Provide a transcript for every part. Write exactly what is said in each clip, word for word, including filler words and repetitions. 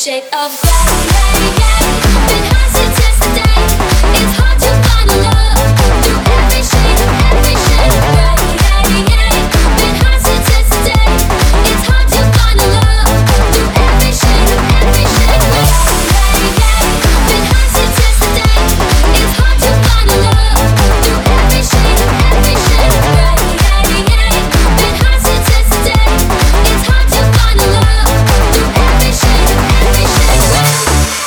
shade of gray. Been high since yesterday. It's hard to find a love through every shade of every shade of gray. Been high since yesterday. It's hard to find a love through every shade of every shade of gray. Been high since yesterday. It's hard to find a love through every shade of every shade of gray. Been high since yesterday. It's hard to find a love through every shade of every shade of gray.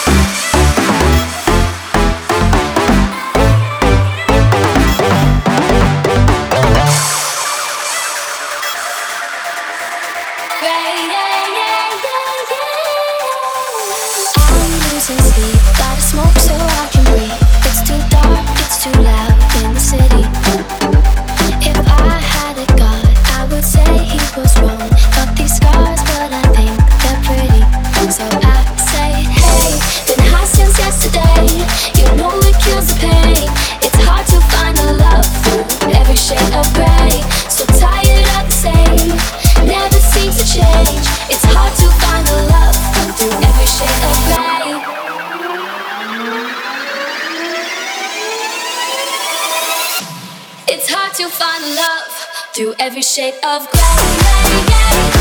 I'm losing sleep, gotta smoke so I can breathe. It's too dark, it's too loud in the city. If I had a god, I would say he was wrong. Got these scars, but I think they're pretty. So I say, hey, been high since yesterday. You know it kills the pain. It's hard to find a love through every shade of gray. So tired of the same, never seems to change. It's hard to find a love through every shade of gray. It's hard to find love through every shade of gray.